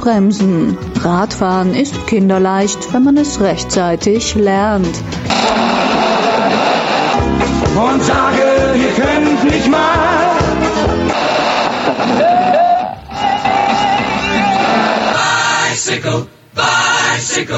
bremsen. Radfahren ist kinderleicht, wenn man es rechtzeitig lernt. Und sage, ihr könnt nicht mal. Bicycle, bicycle.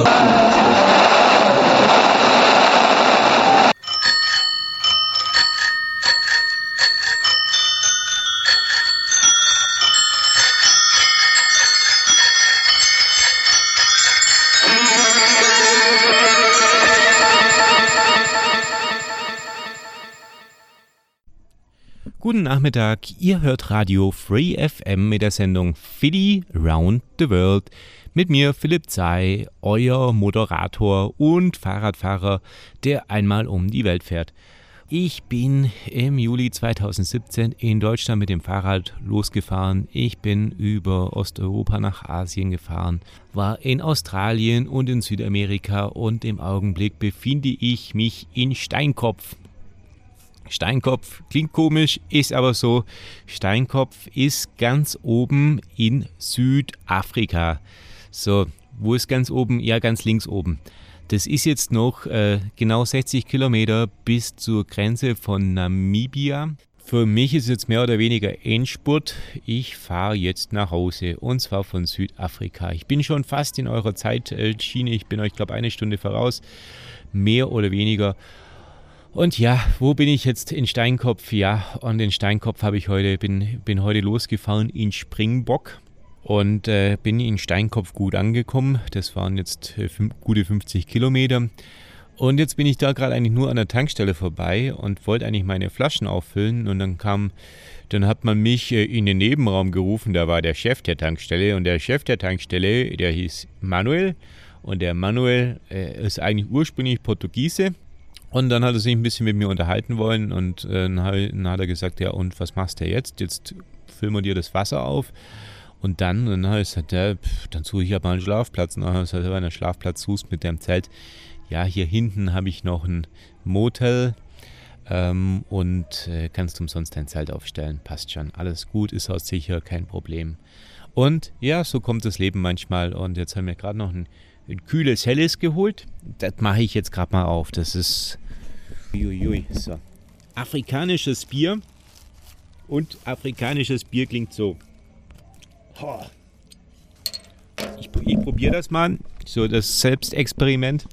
Guten Nachmittag, ihr hört Radio Free FM mit der Sendung Philly Round the World. Mit mir Philipp Zei, euer Moderator und Fahrradfahrer, der einmal um die Welt fährt. Ich bin im Juli 2017 in Deutschland mit dem Fahrrad losgefahren. Ich bin über Osteuropa nach Asien gefahren, war in Australien und in Südamerika und im Augenblick befinde ich mich in Steinkopf. Steinkopf klingt komisch, ist aber so. Steinkopf ist ganz oben in Südafrika. So, wo ist ganz oben? Ja, ganz links oben. Das ist jetzt noch genau 60 Kilometer bis zur Grenze von Namibia. Für mich ist jetzt mehr oder weniger Endspurt. Ich fahre jetzt nach Hause und zwar von Südafrika. Ich bin schon fast in eurer Zeitschiene. Ich bin euch, glaube ich, 1 Stunde voraus. Mehr oder weniger. Und ja, wo bin ich jetzt? In Steinkopf? Ja, und in Steinkopf bin heute losgefahren in Springbock und bin in Steinkopf gut angekommen. Das waren jetzt gute 50 Kilometer. Und jetzt bin ich da gerade eigentlich nur an der Tankstelle vorbei und wollte eigentlich meine Flaschen auffüllen. Und dann hat man mich in den Nebenraum gerufen, da war der Chef der Tankstelle. Und der Chef der Tankstelle, der hieß Manuel. Und der Manuel ist eigentlich ursprünglich Portugiese. Und dann hat er sich ein bisschen mit mir unterhalten wollen und dann hat er gesagt, ja und was machst du jetzt? Jetzt füllen wir dir das Wasser auf und dann habe ich gesagt, ja, dann suche ich aber einen Schlafplatz. Und dann habe ich gesagt, wenn du einen Schlafplatz suchst mit dem Zelt, ja hier hinten habe ich noch ein Motel und kannst umsonst dein Zelt aufstellen, passt schon, alles gut, ist auch sicher, kein Problem. Und ja, so kommt das Leben manchmal und jetzt haben wir gerade noch ein kühles Helles geholt. Das mache ich jetzt gerade mal auf. Das ist so. Afrikanisches Bier. Und afrikanisches Bier klingt so. Ich probiere das mal. So das Selbstexperiment.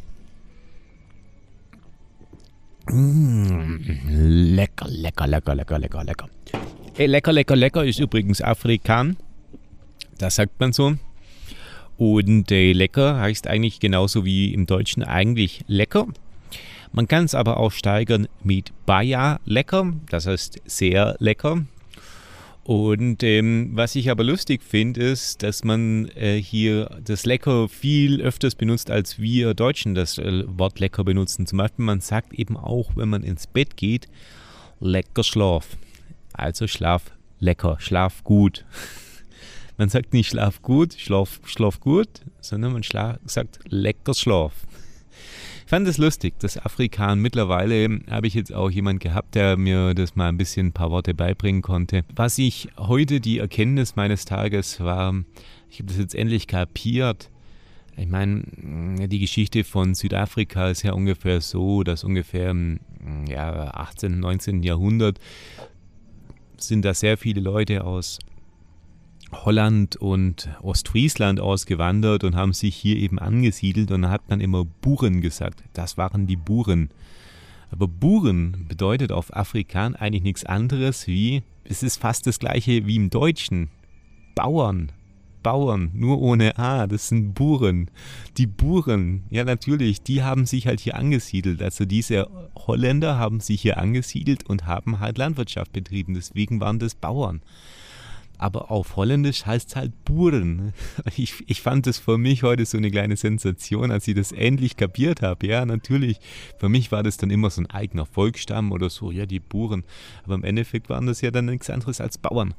Lecker, lecker, lecker, lecker, lecker, lecker. Lecker, lecker, lecker ist übrigens Afrikan. Das sagt man so. Und lecker heißt eigentlich genauso wie im Deutschen eigentlich lecker. Man kann es aber auch steigern mit Baja lecker, das heißt sehr lecker. Und was ich aber lustig finde, ist, dass man hier das lecker viel öfters benutzt, als wir Deutschen das Wort lecker benutzen. Zum Beispiel, man sagt eben auch, wenn man ins Bett geht, lecker Schlaf. Also schlaf lecker, schlaf gut. Man sagt nicht schlaf gut, schlaf gut, sondern man sagt lecker Schlaf. Ich fand das lustig, das Afrikan. Mittlerweile habe ich jetzt auch jemanden gehabt, der mir das mal ein paar Worte beibringen konnte. Was ich heute die Erkenntnis meines Tages war, ich habe das jetzt endlich kapiert. Ich meine, die Geschichte von Südafrika ist ja ungefähr so, dass ungefähr im 18., 19. Jahrhundert sind da sehr viele Leute aus Holland und Ostfriesland ausgewandert und haben sich hier eben angesiedelt und da hat man immer Buren gesagt. Das waren die Buren. Aber Buren bedeutet auf Afrikaan eigentlich nichts anderes wie, es ist fast das gleiche wie im Deutschen. Bauern, nur ohne A, das sind Buren. Die Buren, ja natürlich, die haben sich halt hier angesiedelt. Also diese Holländer haben sich hier angesiedelt und haben halt Landwirtschaft betrieben. Deswegen waren das Bauern. Aber auf Holländisch heißt es halt Buren. Ich fand das für mich heute so eine kleine Sensation, als ich das endlich kapiert habe. Ja, natürlich, für mich war das dann immer so ein eigener Volksstamm oder so, ja, die Buren. Aber im Endeffekt waren das ja dann nichts anderes als Bauern.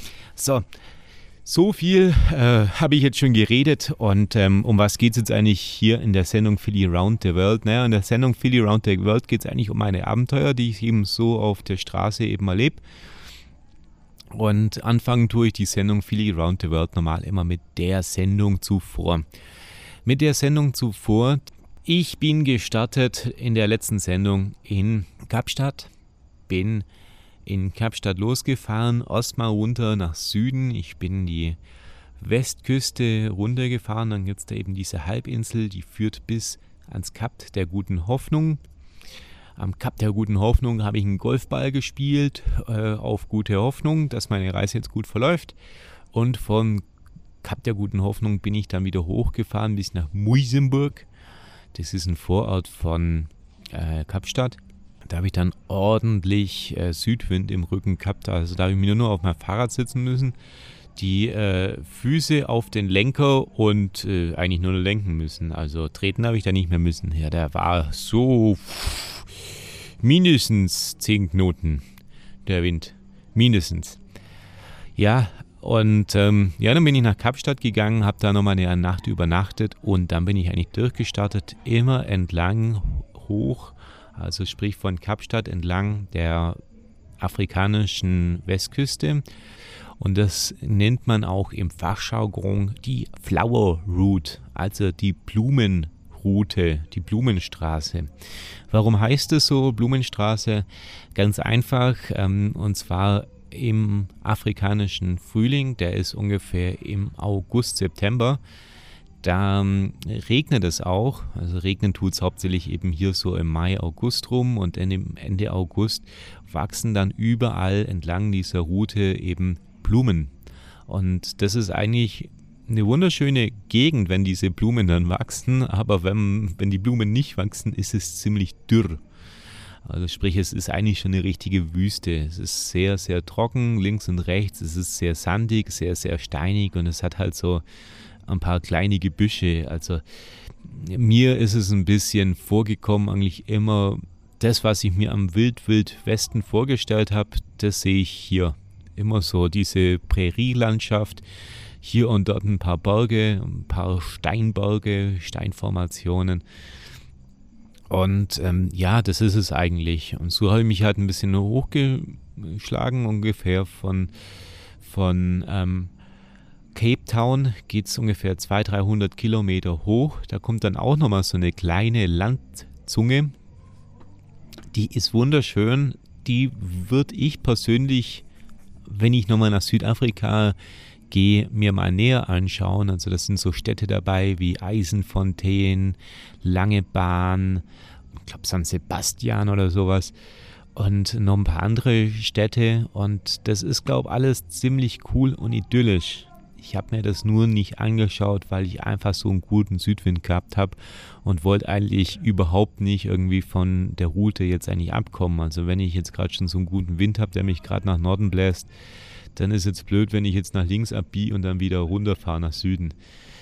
So viel habe ich jetzt schon geredet und um was geht es jetzt eigentlich hier in der Sendung Philly Round the World? Naja, in der Sendung Philly Round the World geht es eigentlich um meine Abenteuer, die ich eben so auf der Straße eben erlebe. Und anfangen tue ich die Sendung Philly Around the World normal immer mit der Sendung zuvor. Ich bin gestartet in der letzten Sendung in Kapstadt, bin in Kapstadt losgefahren, erstmal runter nach Süden. Ich bin die Westküste runtergefahren, dann gibt es da eben diese Halbinsel, die führt bis ans Kap der Guten Hoffnung. Am Kap der Guten Hoffnung habe ich einen Golfball gespielt, auf gute Hoffnung, dass meine Reise jetzt gut verläuft. Und von Kap der Guten Hoffnung bin ich dann wieder hochgefahren bis nach Muizenberg. Das ist ein Vorort von Kapstadt. Da habe ich dann ordentlich Südwind im Rücken gehabt. Also da habe ich mir nur auf mein Fahrrad sitzen müssen, die Füße auf den Lenker und eigentlich nur lenken müssen. Also treten habe ich da nicht mehr müssen. Ja, der war so mindestens 10 Knoten, der Wind. Mindestens. Ja, und dann bin ich nach Kapstadt gegangen, habe da nochmal eine Nacht übernachtet und dann bin ich eigentlich durchgestartet, immer entlang hoch, also sprich von Kapstadt entlang der afrikanischen Westküste. Und das nennt man auch im Fachjargon die Flower Route, also die Blumenroute, die Blumenstraße. Warum heißt es so, Blumenstraße? Ganz einfach, und zwar im afrikanischen Frühling, der ist ungefähr im August, September. Da regnet es auch, also regnen tut es hauptsächlich eben hier so im Mai, August rum und Ende August wachsen dann überall entlang dieser Route eben Blumen. Und das ist eigentlich eine wunderschöne Gegend, wenn diese Blumen dann wachsen, aber wenn die Blumen nicht wachsen, ist es ziemlich dürr. Also sprich, es ist eigentlich schon eine richtige Wüste. Es ist sehr, sehr trocken, links und rechts. Es ist sehr sandig, sehr, sehr steinig und es hat halt so ein paar kleine Gebüsche. Also mir ist es ein bisschen vorgekommen, eigentlich immer das, was ich mir am Wild-Wild-Westen vorgestellt habe, das sehe ich hier. Immer so diese Prärielandschaft, hier und dort ein paar Berge, ein paar Steinberge, Steinformationen. Und das ist es eigentlich. Und so habe ich mich halt ein bisschen hochgeschlagen, ungefähr von Cape Town geht es ungefähr 200-300 Kilometer hoch. Da kommt dann auch nochmal so eine kleine Landzunge. Die ist wunderschön. Die würde ich persönlich, wenn ich nochmal nach Südafrika gehe, mir mal näher anschauen. Also das sind so Städte dabei wie Eisenfontein, Langebahn, ich glaube San Sebastian oder sowas und noch ein paar andere Städte und das ist, glaube ich, alles ziemlich cool und idyllisch. Ich habe mir das nur nicht angeschaut, weil ich einfach so einen guten Südwind gehabt habe und wollte eigentlich überhaupt nicht irgendwie von der Route jetzt eigentlich abkommen. Also wenn ich jetzt gerade schon so einen guten Wind habe, der mich gerade nach Norden bläst, dann ist jetzt blöd, wenn ich jetzt nach links abbiege und dann wieder runterfahre nach Süden.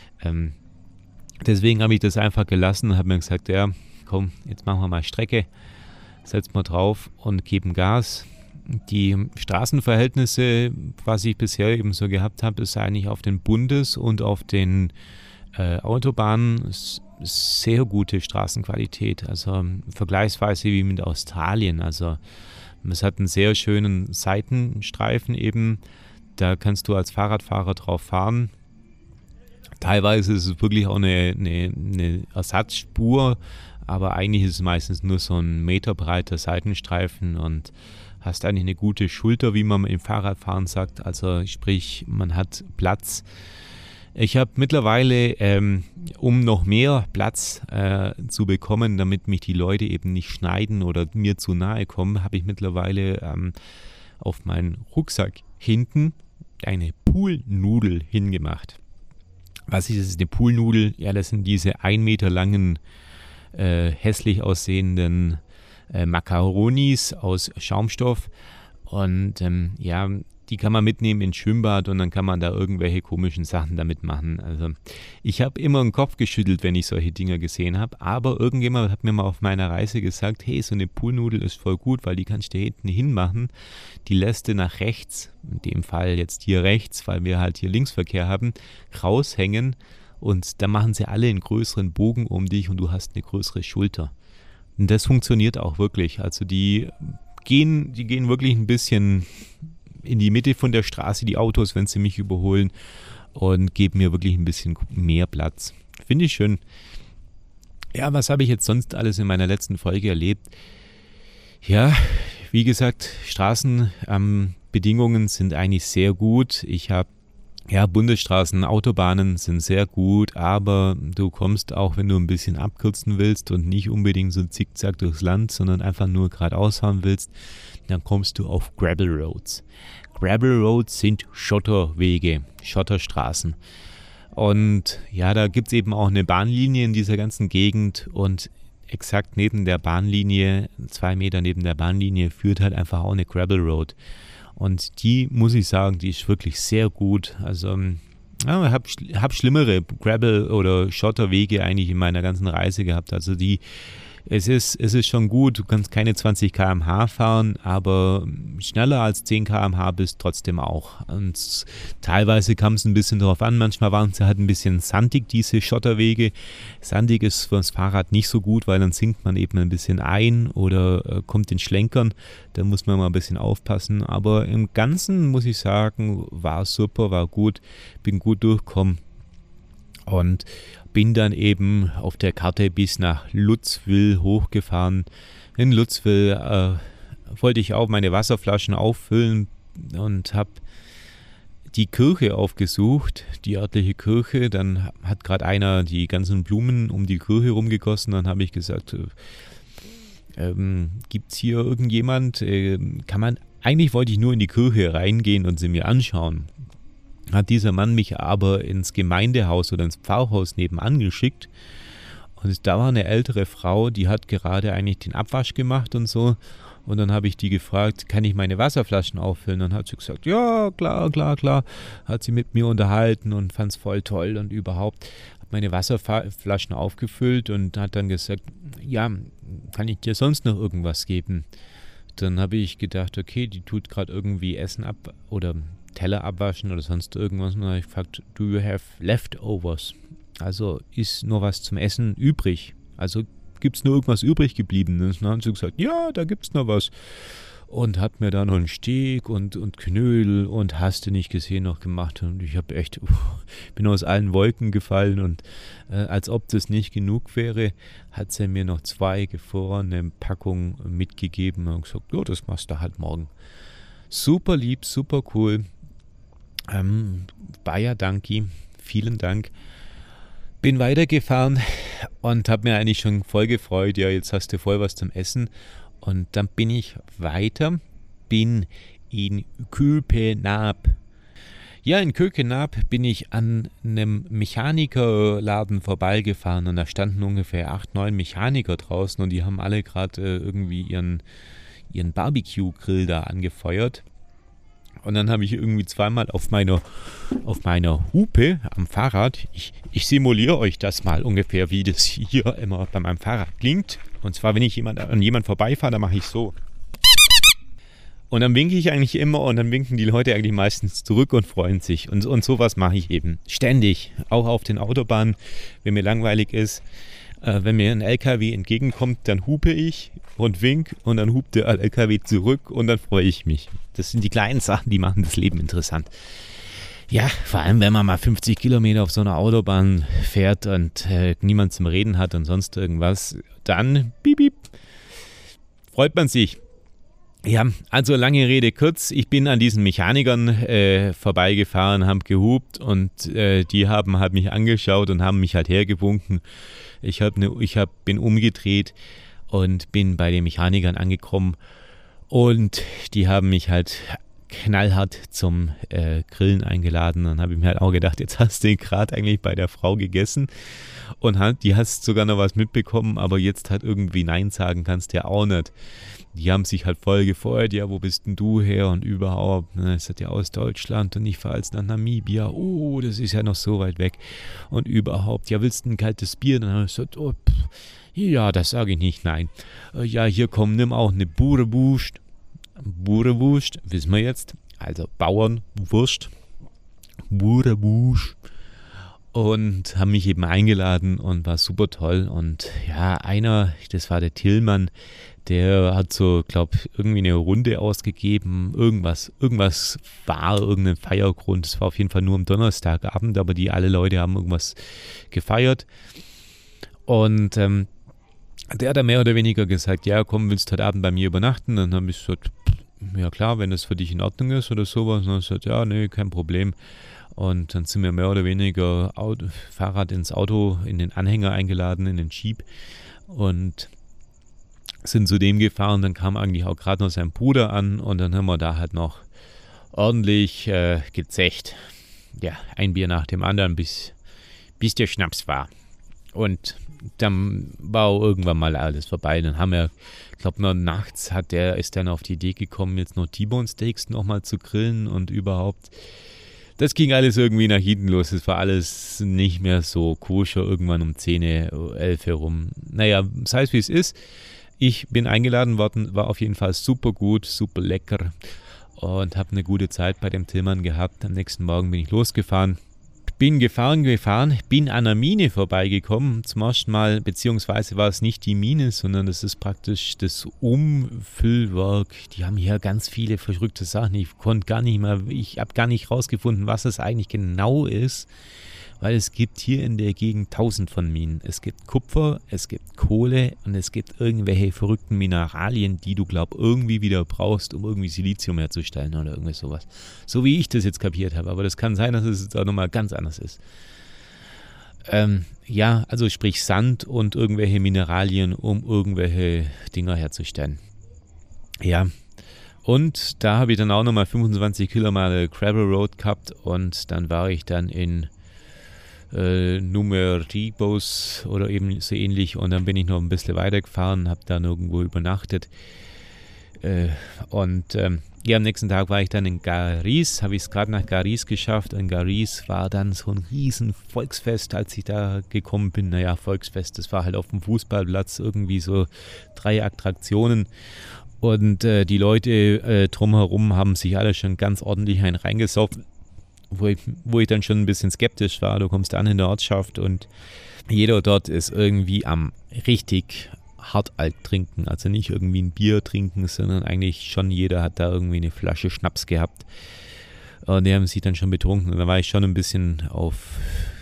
Deswegen habe ich das einfach gelassen und habe mir gesagt, ja, komm, jetzt machen wir mal Strecke, setzen wir drauf und geben Gas. Die Straßenverhältnisse, was ich bisher eben so gehabt habe, ist eigentlich auf den Bundes- und auf den Autobahnen sehr gute Straßenqualität. Also vergleichsweise wie mit Australien. Also es hat einen sehr schönen Seitenstreifen eben. Da kannst du als Fahrradfahrer drauf fahren. Teilweise ist es wirklich auch eine Ersatzspur, aber eigentlich ist es meistens nur so ein meterbreiter Seitenstreifen und hast eigentlich eine gute Schulter, wie man im Fahrradfahren sagt. Also sprich, man hat Platz. Ich habe mittlerweile, um noch mehr Platz zu bekommen, damit mich die Leute eben nicht schneiden oder mir zu nahe kommen, habe ich mittlerweile auf meinen Rucksack hinten eine Poolnudel hingemacht. Was ist eine Poolnudel? Ja, das sind diese 1 Meter langen, hässlich aussehenden Macaronis aus Schaumstoff und die kann man mitnehmen ins Schwimmbad und dann kann man da irgendwelche komischen Sachen damit machen. Also ich habe immer den Kopf geschüttelt, wenn ich solche Dinger gesehen habe, aber irgendjemand hat mir mal auf meiner Reise gesagt, hey, so eine Poolnudel ist voll gut, weil die kannst du hinten hinmachen, die lässt du nach rechts, in dem Fall jetzt hier rechts, weil wir halt hier Linksverkehr haben, raushängen und dann machen sie alle einen größeren Bogen um dich und du hast eine größere Schulter. Und das funktioniert auch wirklich, also die gehen wirklich ein bisschen in die Mitte von der Straße, die Autos, wenn sie mich überholen, und gebe mir wirklich ein bisschen mehr Platz. Finde ich schön. Ja, was habe ich jetzt sonst alles in meiner letzten Folge erlebt? Ja, wie gesagt, Straßenbedingungen sind eigentlich sehr gut. Ich habe Bundesstraßen, Autobahnen sind sehr gut, aber du kommst auch, wenn du ein bisschen abkürzen willst und nicht unbedingt so zickzack durchs Land, sondern einfach nur geradeaus fahren willst, dann kommst du auf Gravel Roads. Gravel Roads sind Schotterwege, Schotterstraßen. Und ja, da gibt es eben auch eine Bahnlinie in dieser ganzen Gegend und exakt neben der Bahnlinie, 2 Meter neben der Bahnlinie, führt halt einfach auch eine Gravel Road. Und die, muss ich sagen, die ist wirklich sehr gut. Also ich hab schlimmere Gravel- oder Schotterwege eigentlich in meiner ganzen Reise gehabt. Also es ist schon gut, du kannst keine 20 km/h fahren, aber schneller als 10 km/h bist trotzdem auch. Und teilweise kam es ein bisschen drauf an, manchmal waren sie halt ein bisschen sandig, diese Schotterwege. Sandig ist für das Fahrrad nicht so gut, weil dann sinkt man eben ein bisschen ein oder kommt in Schlenkern. Da muss man mal ein bisschen aufpassen. Aber im Ganzen muss ich sagen, war super, war gut, bin gut durchgekommen. Und bin dann eben auf der Karte bis nach Lutzwil hochgefahren. In Lutzwil wollte ich auch meine Wasserflaschen auffüllen und habe die Kirche aufgesucht, die örtliche Kirche. Dann hat gerade einer die ganzen Blumen um die Kirche rumgegossen. Dann habe ich gesagt, gibt es hier irgendjemand? Eigentlich wollte ich nur in die Kirche reingehen und sie mir anschauen. Hat dieser Mann mich aber ins Gemeindehaus oder ins Pfarrhaus nebenan geschickt. Und da war eine ältere Frau, die hat gerade eigentlich den Abwasch gemacht und so. Und dann habe ich die gefragt, kann ich meine Wasserflaschen auffüllen? Dann hat sie gesagt, ja, klar. Hat sie mit mir unterhalten und fand es voll toll und überhaupt. Hat meine Wasserflaschen aufgefüllt und hat dann gesagt, ja, kann ich dir sonst noch irgendwas geben? Dann habe ich gedacht, okay, die tut gerade irgendwie Essen ab oder Teller abwaschen oder sonst irgendwas. Und dann habe ich gefragt, do you have leftovers? Also ist nur was zum Essen übrig? Also gibt es nur irgendwas übrig geblieben? Und dann haben sie gesagt, ja, da gibt es noch was. Und hat mir da noch einen Steak und Knödel und hast du nicht gesehen noch gemacht. Und ich habe echt, bin aus allen Wolken gefallen. Und als ob das nicht genug wäre, hat sie mir noch 2 gefrorene Packungen mitgegeben und gesagt, ja, das machst du halt morgen. Super lieb, super cool. Bayer Danki, vielen Dank. Bin weitergefahren und habe mir eigentlich schon voll gefreut, ja, jetzt hast du voll was zum Essen. Und dann bin ich weiter, bin in Köpenhamn. Ja, in Köpenhamn bin ich an einem Mechanikerladen vorbeigefahren und da standen ungefähr 8, 9 Mechaniker draußen und die haben alle gerade irgendwie ihren Barbecue-Grill da angefeuert. Und dann habe ich irgendwie zweimal auf meiner Hupe am Fahrrad, ich simuliere euch das mal ungefähr, wie das hier immer bei meinem Fahrrad klingt. Und zwar, wenn ich an jemand vorbeifahre, dann mache ich so. Und dann winke ich eigentlich immer und dann winken die Leute eigentlich meistens zurück und freuen sich. Und sowas mache ich eben ständig, auch auf den Autobahnen, wenn mir langweilig ist. Wenn mir ein LKW entgegenkommt, dann hupe ich und wink und dann hupt der LKW zurück und dann freue ich mich. Das sind die kleinen Sachen, die machen das Leben interessant. Ja, vor allem, wenn man mal 50 Kilometer auf so einer Autobahn fährt und niemand zum Reden hat und sonst irgendwas, dann piep, freut man sich. Ja, also lange Rede kurz, ich bin an diesen Mechanikern vorbeigefahren, habe gehupt und die haben halt mich angeschaut und haben mich halt hergewunken. Ich bin umgedreht und bin bei den Mechanikern angekommen und die haben mich halt knallhart zum Grillen eingeladen. Dann habe ich mir halt auch gedacht, jetzt hast du gerade eigentlich bei der Frau gegessen und die hast sogar noch was mitbekommen, aber jetzt halt irgendwie Nein sagen kannst du ja auch nicht. Die haben sich halt voll gefreut, ja, wo bist denn du her und überhaupt, ne, ich sagte ja aus Deutschland und ich fahre jetzt nach Namibia, oh, das ist ja noch so weit weg und überhaupt, ja, willst du ein kaltes Bier? Dann habe ich gesagt, oh, ja, das sage ich nicht, nein. Ja, hier komm, nimm auch eine Boerenwurst. Boerenwurst, wissen wir jetzt, also Bauernwurst, Boerenwurst. Und haben mich eben eingeladen und war super toll. Und ja, das war der Tillmann, Der hat so, glaube ich, irgendwie eine Runde ausgegeben. Irgendwas war, irgendein Feiergrund. Es war auf jeden Fall nur am Donnerstagabend, aber alle Leute haben irgendwas gefeiert. Und der hat dann mehr oder weniger gesagt, ja komm, willst du heute Abend bei mir übernachten? Dann habe ich gesagt, ja klar, wenn das für dich in Ordnung ist oder sowas. Und dann hat er gesagt, ja, nee, kein Problem. Und dann sind wir mehr oder weniger Fahrrad ins Auto, in den Anhänger eingeladen, in den Jeep. Und sind zu dem gefahren. Dann kam eigentlich auch gerade noch sein Bruder an. Und dann haben wir da halt noch ordentlich gezecht. Ja, ein Bier nach dem anderen, bis der Schnaps war. Und dann war auch irgendwann mal alles vorbei. Dann haben wir, ich glaube, noch nachts ist dann auf die Idee gekommen, jetzt noch T-Bone Steaks nochmal zu grillen und überhaupt. Das ging alles irgendwie nach hinten los. Es war alles nicht mehr so koscher, irgendwann um 10, 11 herum. Naja, sei es wie es ist. Ich bin eingeladen worden, war auf jeden Fall super gut, super lecker und habe eine gute Zeit bei dem Tillmann gehabt. Am nächsten Morgen bin ich losgefahren. Bin gefahren, bin an einer Mine vorbeigekommen zum ersten Mal, beziehungsweise war es nicht die Mine, sondern das ist praktisch das Umfüllwerk. Die haben hier ganz viele verrückte Sachen. Ich habe gar nicht rausgefunden, was es eigentlich genau ist, weil es gibt hier in der Gegend 1000 von Minen. Es gibt Kupfer, es gibt Kohle und es gibt irgendwelche verrückten Mineralien, die du, irgendwie wieder brauchst, um irgendwie Silizium herzustellen oder irgendwie sowas. So wie ich das jetzt kapiert habe, aber das kann sein, dass es jetzt auch nochmal ganz anders ist. Ja, also sprich Sand und irgendwelche Mineralien, um irgendwelche Dinger herzustellen. Ja, und da habe ich dann auch nochmal 25 Kilometer Gravel Road gehabt und dann war ich dann in Numeribos oder eben so ähnlich und dann bin ich noch ein bisschen weitergefahren, habe dann irgendwo übernachtet am nächsten Tag war ich dann in Garis, habe ich es gerade nach Garis geschafft und Garis war dann so ein riesen Volksfest, als ich da gekommen bin. Naja, Volksfest, das war halt auf dem Fußballplatz irgendwie so 3 Attraktionen und die Leute drumherum haben sich alle schon ganz ordentlich reingesoffen. Wo ich dann schon ein bisschen skeptisch war. Du kommst an in der Ortschaft und jeder dort ist irgendwie am richtig hart alt trinken. Also nicht irgendwie ein Bier trinken, sondern eigentlich schon jeder hat da irgendwie eine Flasche Schnaps gehabt. Und die haben sich dann schon betrunken. Und da war ich schon ein bisschen auf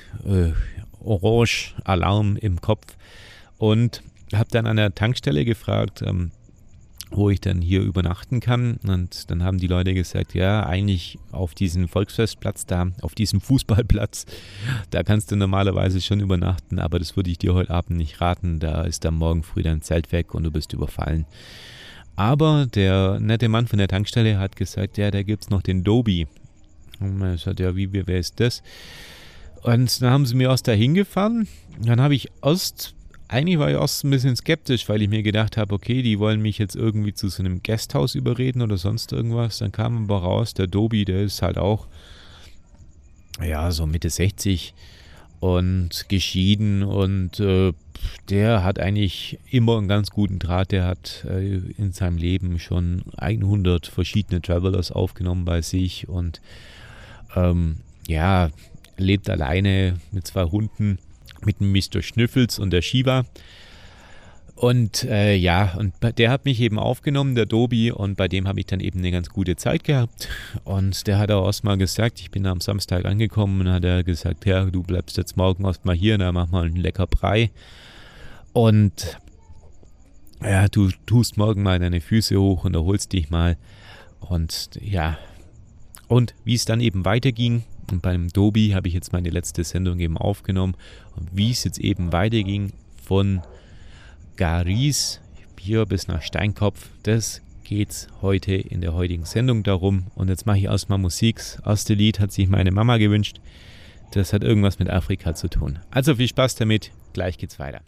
Orange-Alarm im Kopf und habe dann an der Tankstelle gefragt, wo ich dann hier übernachten kann. Und dann haben die Leute gesagt, ja, eigentlich auf diesem Volksfestplatz da, auf diesem Fußballplatz, da kannst du normalerweise schon übernachten, aber das würde ich dir heute Abend nicht raten. Da ist dann morgen früh dein Zelt weg und du bist überfallen. Aber der nette Mann von der Tankstelle hat gesagt, ja, da gibt es noch den Dobi. Und man sagt, ja, wer ist das? Und dann haben sie mir erst da hingefahren. Dann habe ich eigentlich war ich erst ein bisschen skeptisch, weil ich mir gedacht habe, okay, die wollen mich jetzt irgendwie zu so einem Gasthaus überreden oder sonst irgendwas. Dann kam aber raus, der Dobi, der ist halt auch, ja, so Mitte 60 und geschieden und der hat eigentlich immer einen ganz guten Draht. Der hat in seinem Leben schon 100 verschiedene Travelers aufgenommen bei sich und lebt alleine mit 2 Hunden. Mit dem Mr. Schnüffels und der Shiva. Und der hat mich eben aufgenommen, der Dobi, und bei dem habe ich dann eben eine ganz gute Zeit gehabt. Und der hat auch erstmal gesagt, ich bin am Samstag angekommen und hat er gesagt, ja, du bleibst jetzt morgen erstmal hier, dann mach mal einen lecker Brei. Und ja, du tust morgen mal deine Füße hoch und erholst dich mal. Und ja, und wie es dann eben weiterging, und beim Dobi habe ich jetzt meine letzte Sendung eben aufgenommen. Und wie es jetzt eben weiterging von Garis hier bis nach Steinkopf, das geht's heute in der heutigen Sendung darum. Und jetzt mache ich erstmal Musik. Das erste Lied hat sich meine Mama gewünscht. Das hat irgendwas mit Afrika zu tun. Also viel Spaß damit. Gleich geht's weiter.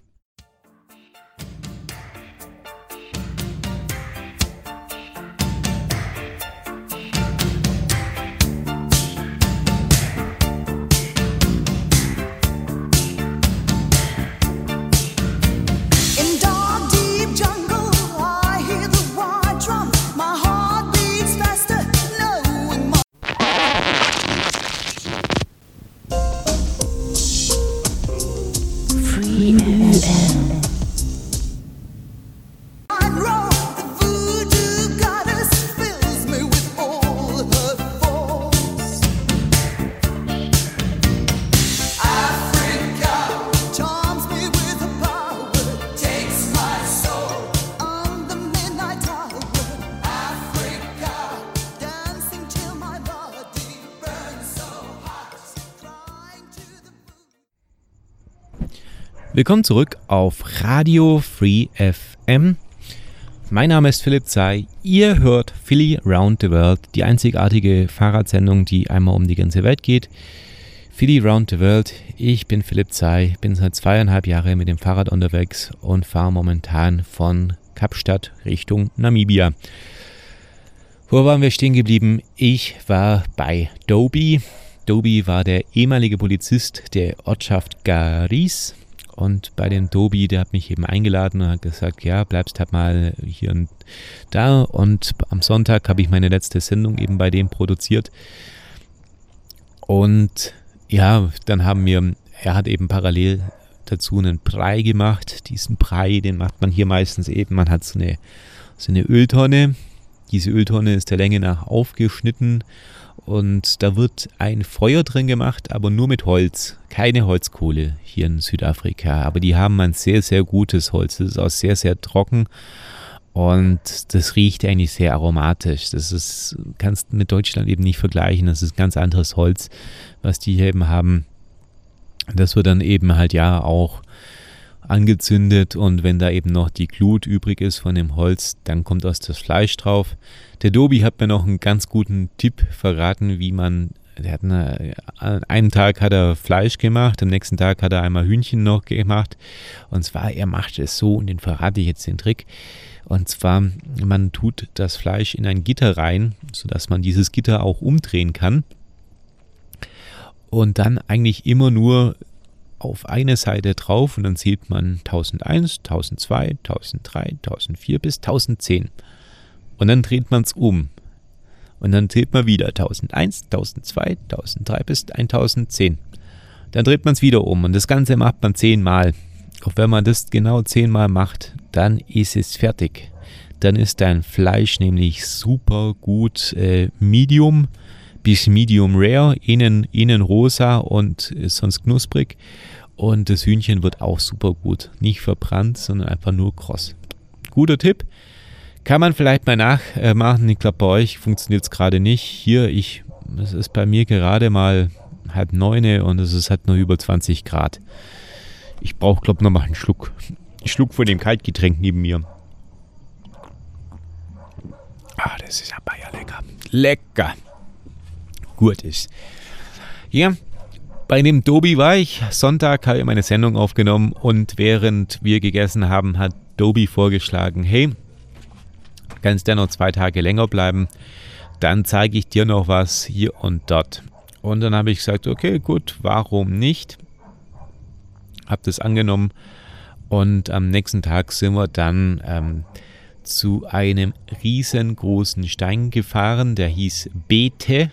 Willkommen zurück auf Radio Free FM. Mein Name ist Philipp Zey. Ihr hört Philly Round the World, die einzigartige Fahrradsendung, die einmal um die ganze Welt geht. Philly Round the World. Ich bin Philipp Zey, bin seit 2,5 Jahren mit dem Fahrrad unterwegs und fahre momentan von Kapstadt Richtung Namibia. Wo waren wir stehen geblieben? Ich war bei Dobi. Dobi war der ehemalige Polizist der Ortschaft Garis. Und bei dem Dobi, der hat mich eben eingeladen und hat gesagt, ja, bleibst halt mal hier und da. Und am Sonntag habe ich meine letzte Sendung eben bei dem produziert. Und ja, dann er hat eben parallel dazu einen Brei gemacht. Diesen Brei, den macht man hier meistens eben, man hat so eine Öltonne. Diese Öltonne ist der Länge nach aufgeschnitten und da wird ein Feuer drin gemacht, aber nur mit Holz. Keine Holzkohle hier in Südafrika, aber die haben ein sehr, sehr gutes Holz. Das ist auch sehr, sehr trocken und das riecht eigentlich sehr aromatisch. Kannst mit Deutschland eben nicht vergleichen. Das ist ganz anderes Holz, was die hier eben haben. Das wird dann eben halt ja auch angezündet und wenn da eben noch die Glut übrig ist von dem Holz, dann kommt aus das Fleisch drauf. Der Dobi hat mir noch einen ganz guten Tipp verraten, an einem Tag hat er Fleisch gemacht, am nächsten Tag hat er einmal Hühnchen noch gemacht und zwar, er macht es so und den verrate ich jetzt den Trick. Und zwar, man tut das Fleisch in ein Gitter rein, sodass man dieses Gitter auch umdrehen kann und dann eigentlich immer nur auf eine Seite drauf und dann zählt man 1001, 1002, 1003, 1004 bis 1010. Und dann dreht man es um. Und dann zählt man wieder 1001, 1002, 1003 bis 1010. Dann dreht man es wieder um und das Ganze macht man 10 Mal. Auch wenn man das genau 10 Mal macht, dann ist es fertig. Dann ist dein Fleisch nämlich super gut Medium bis Medium Rare, innen rosa und ist sonst knusprig. Und das Hühnchen wird auch super gut. Nicht verbrannt, sondern einfach nur kross. Guter Tipp. Kann man vielleicht mal nachmachen. Ich glaube, bei euch funktioniert es gerade nicht. Hier, es ist bei mir gerade mal 8:30 und es ist halt nur über 20 Grad. Ich brauche, glaube ich, noch mal einen Schluck. Einen Schluck von dem Kaltgetränk neben mir. Das ist aber ja lecker. Lecker. Gut ist. Ja, bei dem Dobi war ich. Sonntag habe ich meine Sendung aufgenommen und während wir gegessen haben, hat Dobi vorgeschlagen, hey, kannst du ja noch 2 Tage länger bleiben, dann zeige ich dir noch was hier und dort. Und dann habe ich gesagt, okay, gut, warum nicht? Habe das angenommen und am nächsten Tag sind wir dann zu einem riesengroßen Stein gefahren, der hieß Bete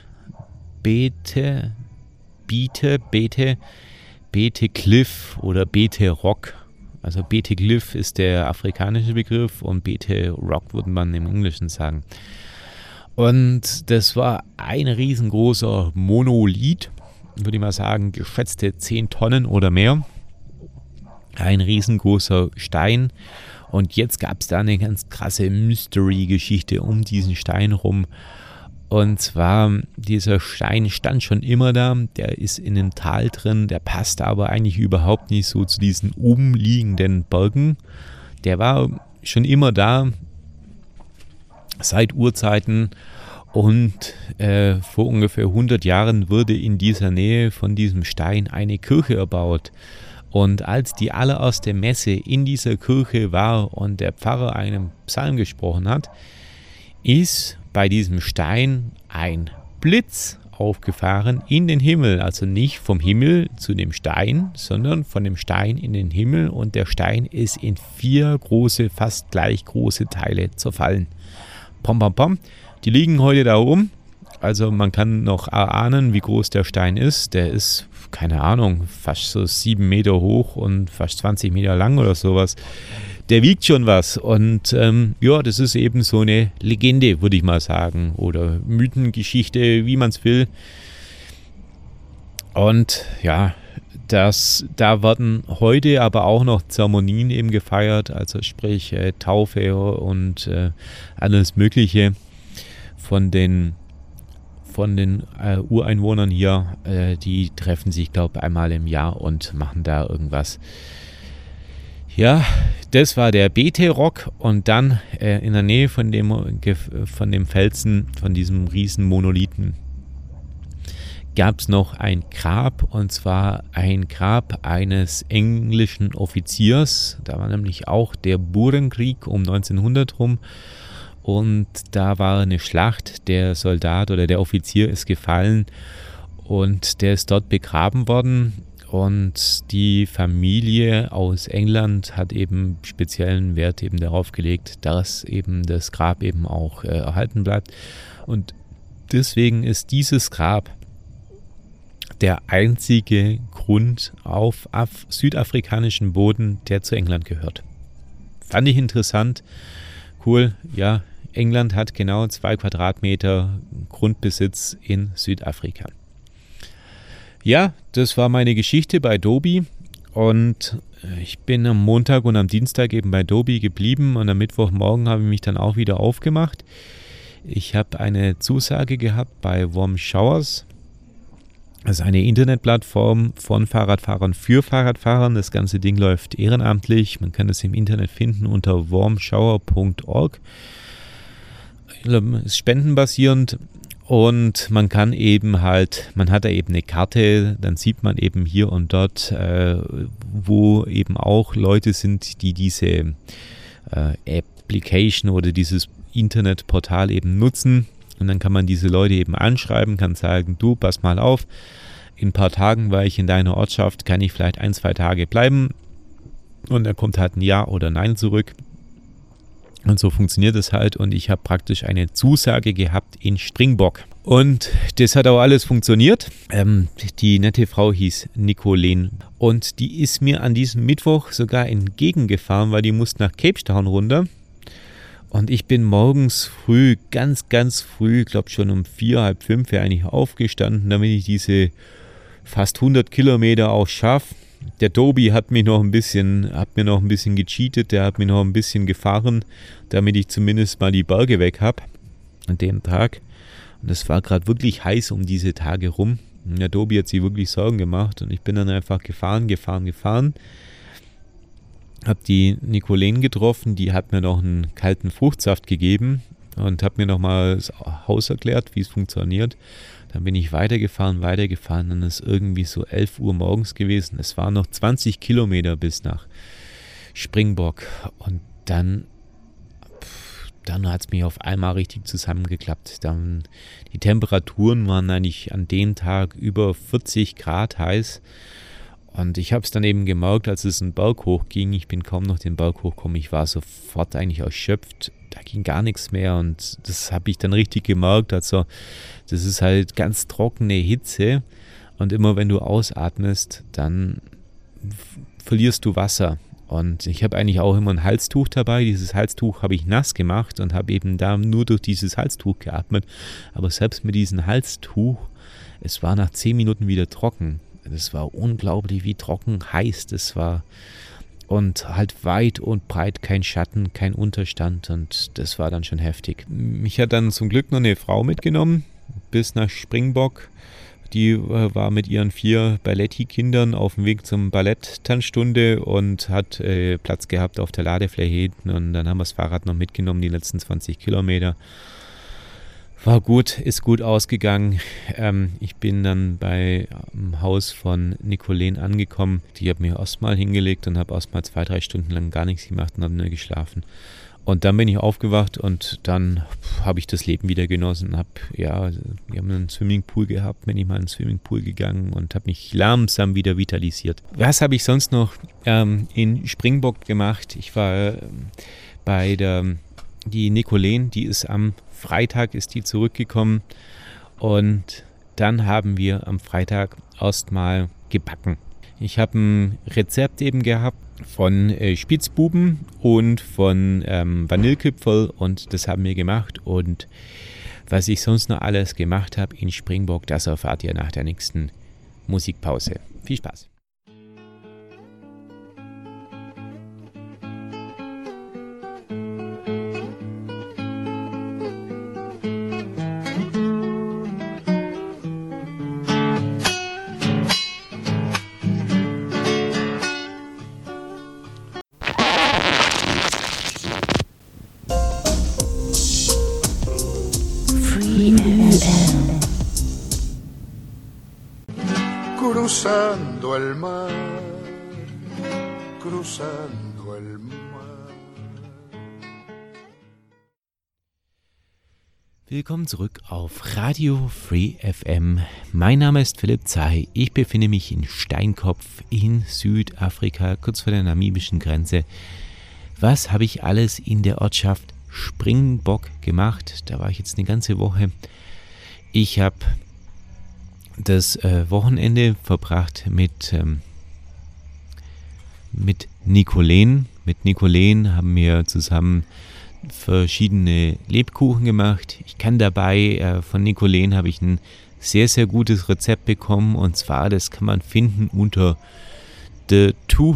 Cliff oder Bete Rock. Also Bete Cliff ist der afrikanische Begriff und Bete Rock würde man im Englischen sagen. Und das war ein riesengroßer Monolith, würde ich mal sagen, geschätzte 10 Tonnen oder mehr. Ein riesengroßer Stein. Und jetzt gab es da eine ganz krasse Mystery-Geschichte um diesen Stein rum. Und zwar, dieser Stein stand schon immer da, der ist in einem Tal drin, der passt aber eigentlich überhaupt nicht so zu diesen umliegenden Bergen. Der war schon immer da, seit Urzeiten und vor ungefähr 100 Jahren wurde in dieser Nähe von diesem Stein eine Kirche erbaut. Und als die allererste Messe in dieser Kirche war und der Pfarrer einen Psalm gesprochen hat, ist bei diesem Stein ein Blitz aufgefahren in den Himmel. Also nicht vom Himmel zu dem Stein, sondern von dem Stein in den Himmel. Und der Stein ist in 4 große, fast gleich große Teile zerfallen. Pom, pom, pom. Die liegen heute da oben. Also man kann noch erahnen, wie groß der Stein ist. Der ist, keine Ahnung, fast so 7 Meter hoch und fast 20 Meter lang oder sowas. Der wiegt schon was und ja, das ist eben so eine Legende, würde ich mal sagen, oder Mythengeschichte, wie man es will. Und ja, da werden heute aber auch noch Zeremonien eben gefeiert, also sprich Taufe und alles Mögliche von den Ureinwohnern hier. Die treffen sich, glaube ich, einmal im Jahr und machen da irgendwas. Ja, das war der BT-Rock und dann in der Nähe von dem Felsen, von diesem riesen Monolithen, gab es noch ein Grab, und zwar ein Grab eines englischen Offiziers. Da war nämlich auch der Burenkrieg um 1900 rum und da war eine Schlacht. Der Soldat oder der Offizier ist gefallen und der ist dort begraben worden. Und die Familie aus England hat eben speziellen Wert eben darauf gelegt, dass eben das Grab eben auch erhalten bleibt. Und deswegen ist dieses Grab der einzige Grund auf südafrikanischem Boden, der zu England gehört. Fand ich interessant. Cool, ja, England hat genau 2 Quadratmeter Grundbesitz in Südafrika. Ja, das war meine Geschichte bei Dobie und ich bin am Montag und am Dienstag eben bei Dobie geblieben und am Mittwochmorgen habe ich mich dann auch wieder aufgemacht. Ich habe eine Zusage gehabt bei Warm Showers. Das ist eine Internetplattform von Fahrradfahrern für Fahrradfahrern. Das ganze Ding läuft ehrenamtlich. Man kann es im Internet finden unter warmshower.org. Ist spendenbasierend. Und man kann eben halt, man hat da eben eine Karte, dann sieht man eben hier und dort, wo eben auch Leute sind, die diese Application oder dieses Internetportal eben nutzen. Und dann kann man diese Leute eben anschreiben, kann sagen, du, pass mal auf, in ein paar Tagen war ich in deiner Ortschaft, kann ich vielleicht 1-2 Tage bleiben? Und dann kommt halt ein Ja oder Nein zurück. Und so funktioniert es halt und ich habe praktisch eine Zusage gehabt in Springbok. Und das hat auch alles funktioniert. Die nette Frau hieß Nicolene und die ist mir an diesem Mittwoch sogar entgegengefahren, weil die musste nach Cape Town runter. Und ich bin morgens früh, ganz, ganz früh, ich glaube schon um 4, halb 5 eigentlich aufgestanden, damit ich diese fast 100 Kilometer auch schaffe. Der Dobie hat mir noch ein bisschen gecheatet, der hat mir noch ein bisschen gefahren, damit ich zumindest mal die Berge weg habe an dem Tag. Und es war gerade wirklich heiß um diese Tage rum. Und der Dobie hat sich wirklich Sorgen gemacht und ich bin dann einfach gefahren. Habe die Nicolene getroffen, die hat mir noch einen kalten Fruchtsaft gegeben und hat mir nochmal das Haus erklärt, wie es funktioniert. Dann bin ich weitergefahren, dann ist irgendwie so 11 Uhr morgens gewesen. Es waren noch 20 Kilometer bis nach Springbok und dann hat es mich auf einmal richtig zusammengeklappt. Dann, die Temperaturen waren eigentlich an dem Tag über 40 Grad heiß. Und ich habe es dann eben gemerkt, als es einen Berg hochging. Ich bin kaum noch den Berg hochgekommen. Ich war sofort eigentlich erschöpft. Da ging gar nichts mehr. Und das habe ich dann richtig gemerkt. Also das ist halt ganz trockene Hitze. Und immer wenn du ausatmest, dann verlierst du Wasser. Und ich habe eigentlich auch immer ein Halstuch dabei. Dieses Halstuch habe ich nass gemacht und habe eben da nur durch dieses Halstuch geatmet. Aber selbst mit diesem Halstuch, es war nach 10 Minuten wieder trocken. Das war unglaublich, wie trocken heiß das war. Und halt weit und breit kein Schatten, kein Unterstand. Und das war dann schon heftig. Mich hat dann zum Glück noch eine Frau mitgenommen bis nach Springbok. Die war mit ihren 4 Balletti-Kindern auf dem Weg zum Ballett-Tanzstunde und hat Platz gehabt auf der Ladefläche hinten. Und dann haben wir das Fahrrad noch mitgenommen, die letzten 20 Kilometer. War gut, ist gut ausgegangen. Ich bin dann beim Haus von Nicolene angekommen. Die hat mir erstmal hingelegt und habe erstmal 2-3 Stunden lang gar nichts gemacht und habe nur geschlafen. Und dann bin ich aufgewacht und dann habe ich das Leben wieder genossen. Wir haben einen Swimmingpool gehabt, bin ich mal in den Swimmingpool gegangen und habe mich langsam wieder vitalisiert. Was habe ich sonst noch in Springbok gemacht? Ich war bei die Nicolene, die ist am Freitag zurückgekommen und dann haben wir am Freitag erstmal gebacken. Ich habe ein Rezept eben gehabt von Spitzbuben und von Vanillekipferl und das haben wir gemacht. Und was ich sonst noch alles gemacht habe in Springbok, das erfahrt ihr nach der nächsten Musikpause. Viel Spaß! cruzando el mar, cruzando el mar. Willkommen zurück auf Radio Free FM. Mein Name ist Philipp Zay. Ich befinde mich in Steinkopf in Südafrika, kurz vor der namibischen Grenze. Was habe ich alles in der Ortschaft Springbok gemacht? Da war ich jetzt eine ganze Woche. Ich habe das Wochenende verbracht mit Nicoleen. Mit Nicoleen haben wir zusammen verschiedene Lebkuchen gemacht. Ich kann dabei, von Nicoleen habe ich ein sehr, sehr gutes Rezept bekommen, und zwar, das kann man finden unter The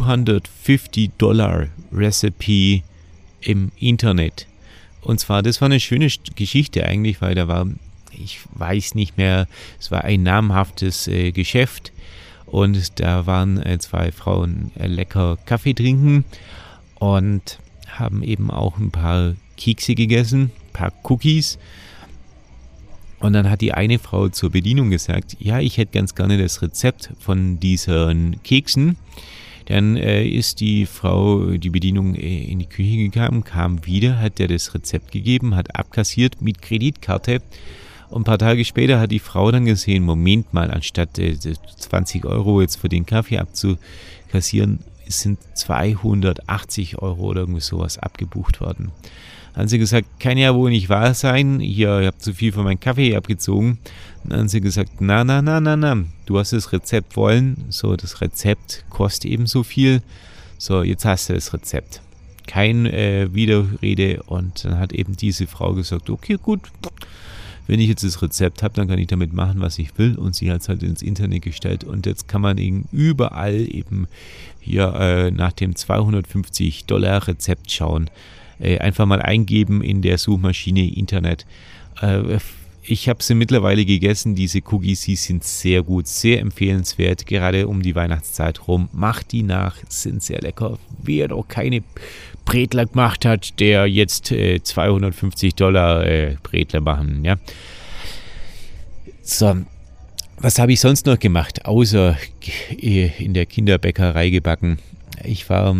$250 Recipe im Internet. Und zwar, das war eine schöne Geschichte eigentlich, weil da war, ich weiß nicht mehr, es war ein namhaftes Geschäft, und da waren zwei Frauen lecker Kaffee trinken und haben eben auch ein paar Kekse gegessen, ein paar Cookies. Und dann hat die eine Frau zur Bedienung gesagt, ja, ich hätte ganz gerne das Rezept von diesen Keksen. Dann ist die Bedienung in die Küche gegangen, kam wieder, hat der das Rezept gegeben, hat abkassiert mit Kreditkarte. Und ein paar Tage später hat die Frau dann gesehen, Moment mal, anstatt 20 € jetzt für den Kaffee abzukassieren, sind 280 € oder irgendwie sowas abgebucht worden. Dann haben sie gesagt, kann ja wohl nicht wahr sein, hier, ihr habt zu viel von meinem Kaffee abgezogen. Dann haben sie gesagt, na, du hast das Rezept wollen, so, das Rezept kostet eben so viel, so, jetzt hast du das Rezept. Kein Widerrede, und dann hat eben diese Frau gesagt, okay, gut, wenn ich jetzt das Rezept habe, dann kann ich damit machen, was ich will, und sie hat es halt ins Internet gestellt, und jetzt kann man eben überall eben hier nach dem $250 Rezept schauen. Einfach mal eingeben in der Suchmaschine Internet. Ich habe sie mittlerweile gegessen, diese Cookies, die sind sehr gut, sehr empfehlenswert, gerade um die Weihnachtszeit rum. Macht die nach, sind sehr lecker. Wer doch keine Bretler gemacht hat, der jetzt $250 Bretler machen. Ja. So, was habe ich sonst noch gemacht, außer in der Kinderbäckerei gebacken? Ich war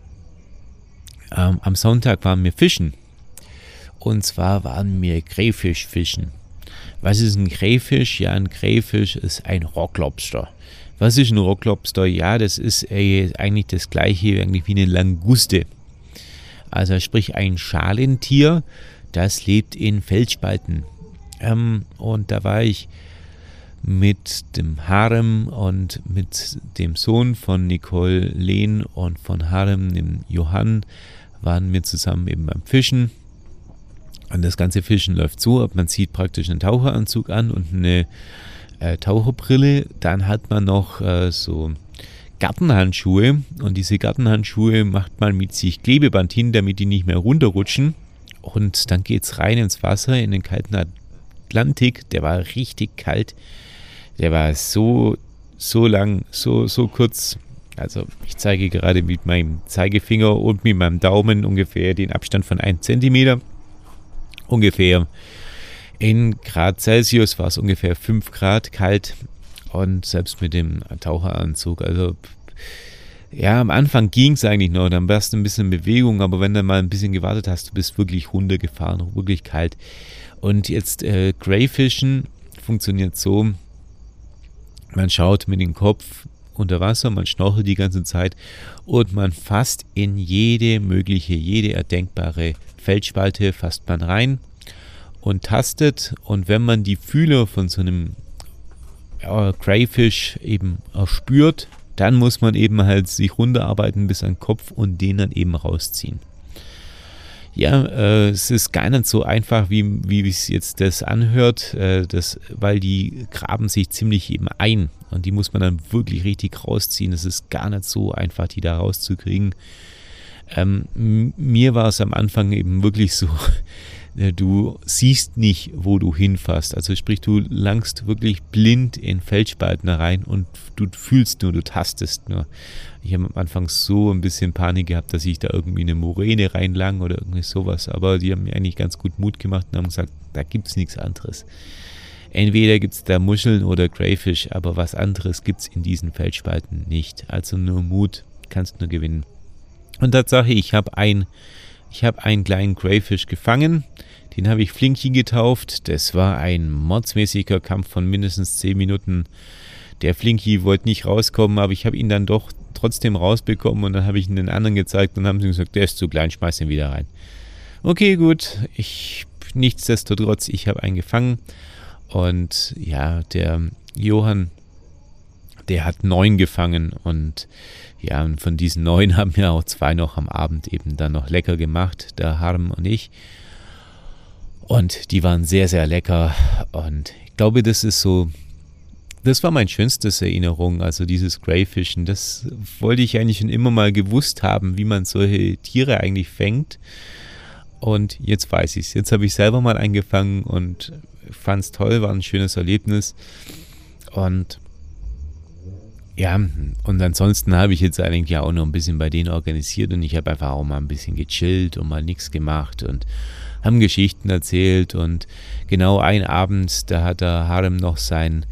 am Sonntag waren wir fischen. Und zwar waren wir Crayfisch fischen. Was ist ein Crayfisch? Ja, ein Crayfisch ist ein Rocklobster. Was ist ein Rocklobster? Ja, das ist eigentlich das gleiche eigentlich wie eine Languste. Also sprich ein Schalentier, das lebt in Felsspalten. Und da war ich mit dem Harem und mit dem Sohn von Nicole Lehn und von Harem, dem Johann, waren wir zusammen eben beim Fischen. Und das ganze Fischen läuft so, man zieht praktisch einen Taucheranzug an und eine Taucherbrille. Dann hat man noch so Gartenhandschuhe, und diese Gartenhandschuhe macht man mit sich Klebeband hin, damit die nicht mehr runterrutschen. Und dann geht es rein ins Wasser, in den kalten Atlantik. Der war richtig kalt. Der war so lang, so kurz. Also ich zeige gerade mit meinem Zeigefinger und mit meinem Daumen ungefähr den Abstand von 1 Zentimeter. Ungefähr. In Grad Celsius war es ungefähr 5 Grad kalt, und selbst mit dem Taucheranzug. Also ja, am Anfang ging es eigentlich noch, dann warst du ein bisschen in Bewegung, aber wenn du mal ein bisschen gewartet hast, du bist wirklich runtergefahren, wirklich kalt. Und jetzt Crayfischen funktioniert so, man schaut mit dem Kopf unter Wasser, man schnorchelt die ganze Zeit und man fasst in jede erdenkbare Felsspalte fasst man rein und tastet, und wenn man die Fühler von so einem Crayfish eben erspürt, dann muss man eben halt sich runterarbeiten bis an den Kopf und den dann eben rausziehen. Ja, es ist gar nicht so einfach, wie es jetzt das anhört, weil die graben sich ziemlich eben ein, und die muss man dann wirklich richtig rausziehen. Es ist gar nicht so einfach, die da rauszukriegen. Mir war es am Anfang eben wirklich so, du siehst nicht, wo du hinfasst. Also sprich, du langst wirklich blind in Felsspalten rein und du fühlst nur, du tastest nur. Ich habe am Anfang so ein bisschen Panik gehabt, dass ich da irgendwie eine Moräne reinlang oder irgendwie sowas. Aber die haben mir eigentlich ganz gut Mut gemacht und haben gesagt, da gibt es nichts anderes. Entweder gibt es da Muscheln oder Crayfish, aber was anderes gibt es in diesen Felsspalten nicht. Also nur Mut, kannst nur gewinnen. Und Tatsache, ich habe einen kleinen Crayfish gefangen. Den habe ich Flinky getauft. Das war ein mordsmäßiger Kampf von mindestens 10 Minuten. Der Flinky wollte nicht rauskommen, aber ich habe ihn dann doch trotzdem rausbekommen und dann habe ich ihn den anderen gezeigt und haben sie gesagt, der ist zu klein, schmeiß ihn wieder rein. Okay, gut. Nichtsdestotrotz, ich habe einen gefangen und ja, der Johann, der hat 9 gefangen und ja, und von diesen 9 haben wir auch 2 noch am Abend eben dann noch lecker gemacht, der Harm und ich. Und die waren sehr, sehr lecker und ich glaube, das war meine schönste Erinnerung, also dieses Crayfischen. Das wollte ich eigentlich schon immer mal gewusst haben, wie man solche Tiere eigentlich fängt. Und jetzt weiß ich es. Jetzt habe ich selber mal eingefangen und fand es toll, war ein schönes Erlebnis. Und ja, und ansonsten habe ich jetzt eigentlich auch noch ein bisschen bei denen organisiert und ich habe einfach auch mal ein bisschen gechillt und mal nichts gemacht und haben Geschichten erzählt und genau einen Abend, da hat der Harem noch sein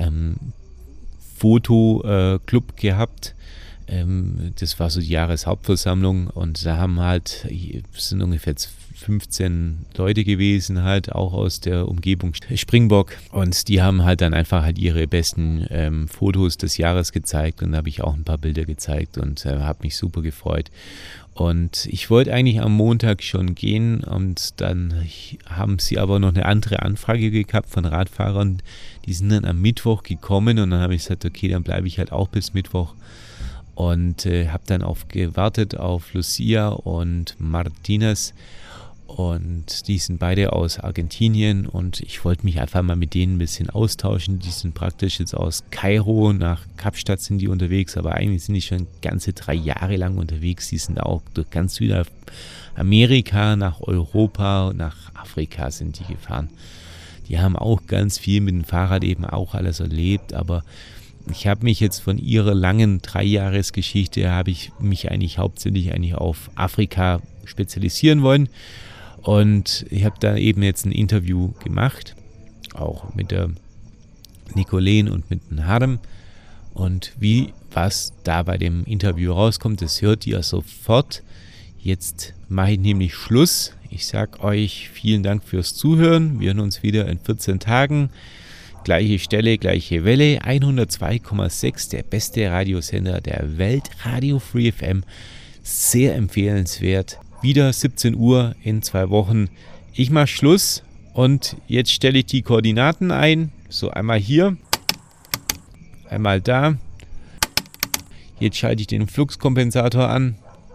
Fotoclub gehabt. Das war so die Jahreshauptversammlung und da sind ungefähr 15 Leute gewesen, halt auch aus der Umgebung Springbock und die haben halt dann einfach halt ihre besten Fotos des Jahres gezeigt und da habe ich auch ein paar Bilder gezeigt und habe mich super gefreut. Und ich wollte eigentlich am Montag schon gehen und dann haben sie aber noch eine andere Anfrage gehabt von Radfahrern. Die sind dann am Mittwoch gekommen und dann habe ich gesagt, okay, dann bleibe ich halt auch bis Mittwoch. Und habe dann gewartet auf Lucia und Martinez und die sind beide aus Argentinien und ich wollte mich einfach mal mit denen ein bisschen austauschen. Die sind praktisch jetzt aus Kairo nach Kapstadt sind die unterwegs, aber eigentlich sind die schon ganze 3 Jahre lang unterwegs. Die sind auch durch ganz Südamerika, nach Europa, nach Afrika sind die gefahren. Die haben auch ganz viel mit dem Fahrrad eben auch alles erlebt, aber ich habe mich jetzt von ihrer langen 3-Jahres-Geschichte habe ich mich eigentlich hauptsächlich auf Afrika spezialisieren wollen. Und ich habe da eben jetzt ein Interview gemacht, auch mit der Nicolene und mit dem Harem. Und was da bei dem Interview rauskommt, das hört ihr sofort. Jetzt mache ich nämlich Schluss. Ich sage euch vielen Dank fürs Zuhören. Wir hören uns wieder in 14 Tagen. Gleiche Stelle, gleiche Welle. 102,6, der beste Radiosender der Welt. Radio Free FM. Sehr empfehlenswert. Wieder 17 Uhr in 2 Wochen. Ich mache Schluss und jetzt stelle ich die Koordinaten ein. So, einmal hier, einmal da. Jetzt schalte ich den Fluxkompensator an.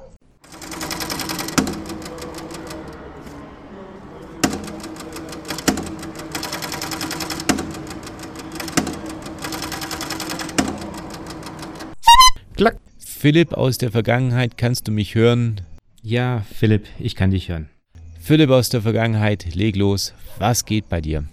Klack. Philipp aus der Vergangenheit, kannst du mich hören? Ja, Philipp, ich kann dich hören. Philipp aus der Vergangenheit, leg los. Was geht bei dir?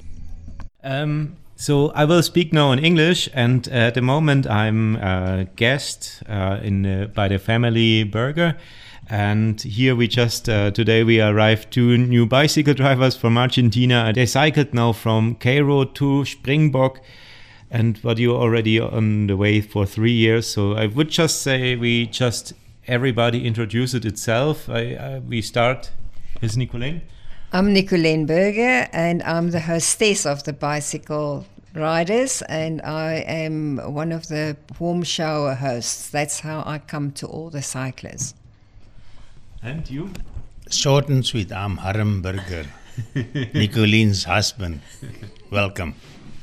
So I will speak now in English, and at the moment I'm a guest by the family burger. And here we just, today we arrived 2 new bicycle drivers from Argentina. They cycled now from Cairo to Springbok. And but you're already on the way for 3 years. So I would just say everybody introduce it itself. We start with Nicolene. I'm Nicolene Berger and I'm the hostess of the Bicycle Riders and I am one of the warm shower hosts. That's how I come to all the cyclists. And you? Short and sweet, I'm Harem Berger, Nicolene's husband. Welcome.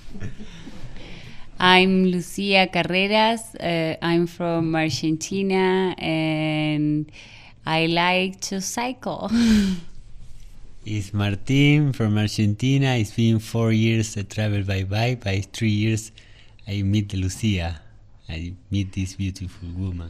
I'm Lucia Carreras. I'm from Argentina and I like to cycle. It's Martin from Argentina. It's been 4 years I travel by bike. By 3 years I meet Lucia. I meet this beautiful woman.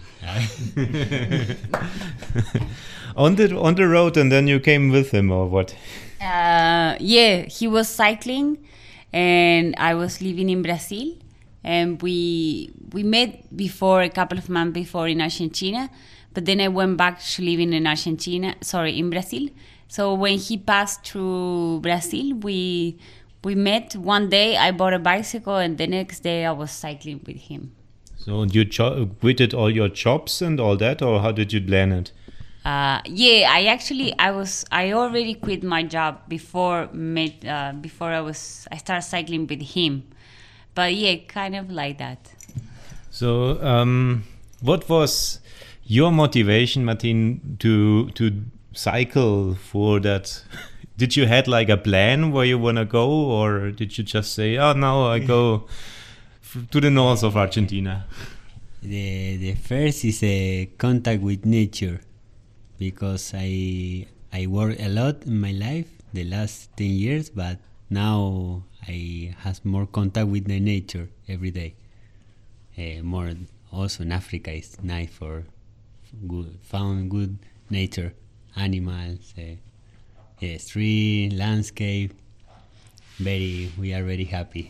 On the road, and then you came with him, or what? Yeah, he was cycling and I was living in Brazil. And we met before, a couple of months before in Argentina, but then I went back to living in in Brazil. So when he passed through Brazil, we we met one day. I bought a bicycle, and the next day I was cycling with him. So you quitted all your jobs and all that, or how did you plan it? I already quit my job before I started cycling with him. But yeah, kind of like that. So what was your motivation, Martin, to cycle for that? Did you had like a plan where you want to go, or did you just say, oh, now I go to the north of Argentina? The first is a contact with nature, because I work a lot in my life the last 10 years, but now I have more contact with the nature every day. More also in Africa is nice for found good nature, animals, tree, landscape. We are very happy.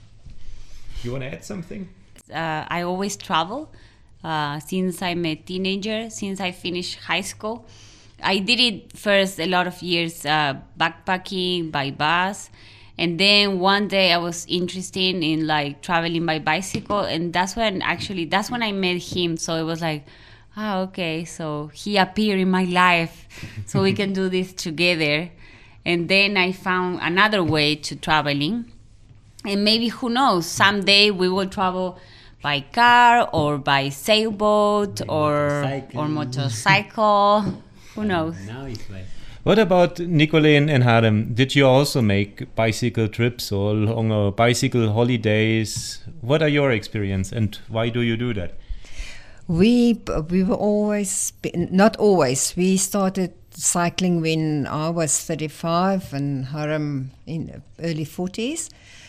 You want to add something? I always travel since I'm a teenager, since I finished high school. I did it first a lot of years backpacking by bus, and then one day I was interested in like traveling by bicycle, and that's when I met him. So it was like, okay, so he appeared in my life, so we can do this together. And then I found another way to traveling, and maybe, who knows, someday we will travel by car or by sailboat or motorcycle. Who knows? Now it's like. What about Nicolene and Harem? Did you also make bicycle trips or longer bicycle holidays? What are your experience, and why do you do that? We were always, not always, we started cycling when I was 35 and Harem in early 40s.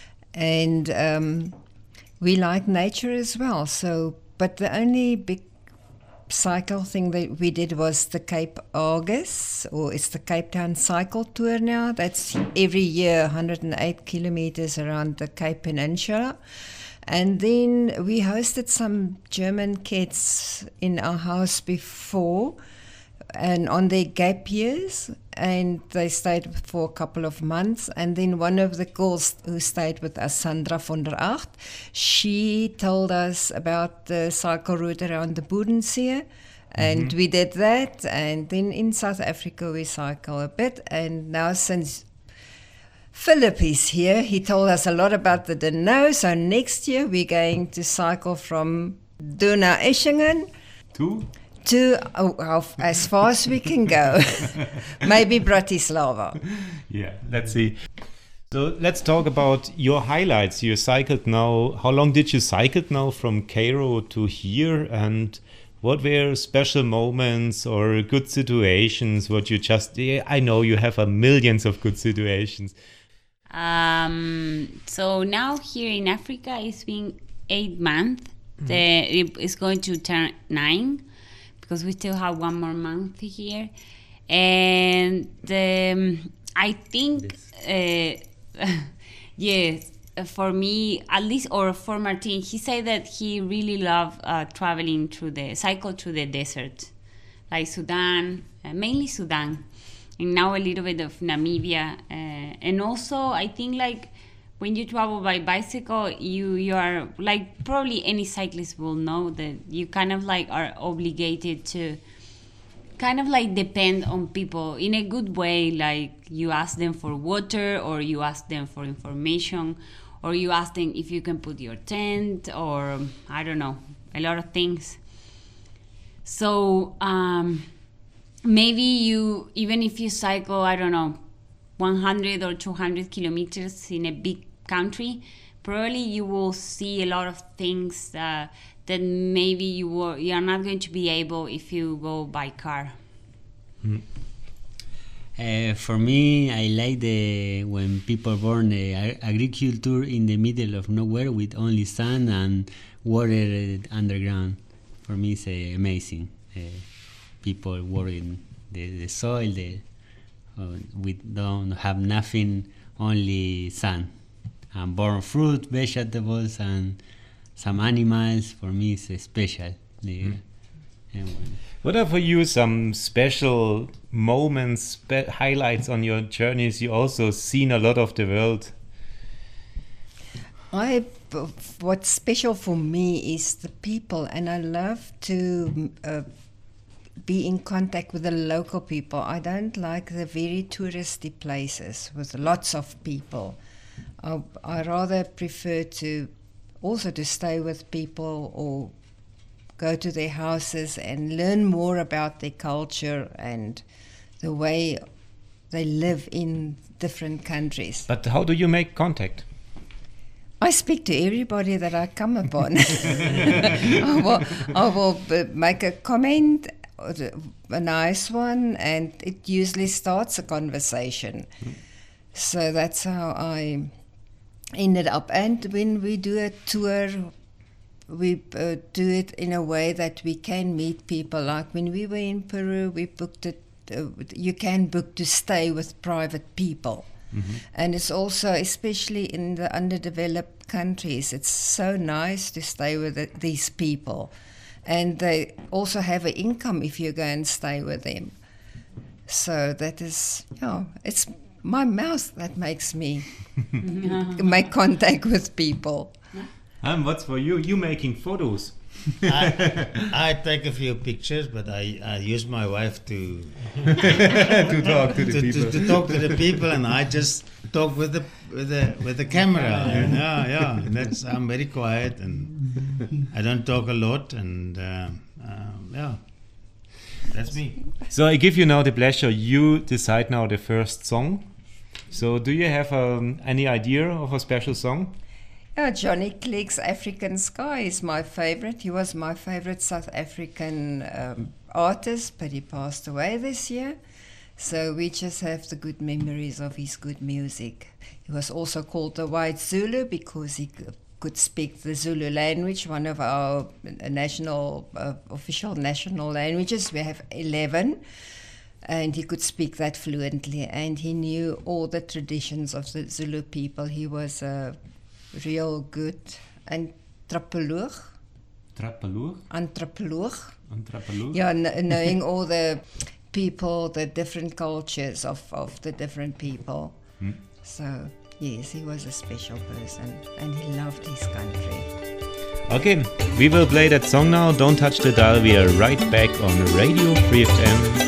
And we like nature as well. So, but the only big cycle thing that we did was the Cape Argus, or it's the Cape Town Cycle Tour now. That's every year 108 kilometers around the Cape Peninsula. And then we hosted some German kids in our house before and on their gap years, and they stayed for a couple of months. And then one of the girls who stayed with us, Sandra von der Acht, she told us about the cycle route around the Bodensee, and we did that. And then in South Africa we cycle a bit, and now since Philip is here, he told us a lot about the Donau. So next year we're going to cycle from Donau-Eschingen to as far as we can go. Maybe Bratislava. Yeah, let's see. So let's talk about your highlights. You cycled now. How long did you cycle now from Cairo to here? And what were special moments or good situations? What you just, I know you have millions of good situations. So now here in Africa, it's been 8 months. It's going to turn 9. Because we still have 1 more month here. And I think, for me, at least, or for Martin, he said that he really loved traveling cycle through the desert, like Sudan, mainly Sudan, and now a little bit of Namibia. And also, I think, like, when you travel by bicycle, you are, like, probably any cyclist will know that you kind of like are obligated to kind of like depend on people in a good way. Like, you ask them for water, or you ask them for information, or you ask them if you can put your tent, or I don't know, a lot of things. So maybe even if you cycle, I don't know, 100 or 200 kilometers in a big country, probably you will see a lot of things that maybe you are not going to be able if you go by car. For me, I like when people born agriculture in the middle of nowhere with only sun and water underground. For me, it's amazing. People working the soil, we don't have nothing, only sun. And born fruit, vegetables, and some animals. For me, it's special. What are for you some special moments, highlights on your journeys? You also seen a lot of the world. What's special for me is the people, and I love to be in contact with the local people. I don't like the very touristy places with lots of people. I rather prefer to stay with people or go to their houses and learn more about their culture and the way they live in different countries. But how do you make contact? I speak to everybody that I come upon. I will make a comment, a nice one, and it usually starts a conversation. So that's how I ended up. And when we do a tour, we do it in a way that we can meet people. Like when we were in Peru, we booked it. You can book to stay with private people. Mm-hmm. And it's also, especially in the underdeveloped countries, it's so nice to stay with these people. And they also have an income if you go and stay with them. So that is, it's my mouth that makes me make contact with people. What's for you? You making photos? I take a few pictures, but I use my wife to talk to the people. To talk to the people, and I just talk with the camera. Yeah. And I'm very quiet, and I don't talk a lot, and that's me. So I give you now the pleasure. You decide now the first song. So do you have any idea of a special song? Yeah, Johnny Clegg's African Sky is my favorite. He was my favorite South African artist, but he passed away this year. So we just have the good memories of his good music. He was also called the White Zulu because he could speak the Zulu language, one of our national official national languages. We have 11. And he could speak that fluently. And he knew all the traditions of the Zulu people. He was a real good anthropologue. Yeah, knowing all the people, the different cultures of the different people. So, yes, he was a special person and he loved his country. Okay, we will play that song now. Don't touch the dial. We are right back on Radio Free FM.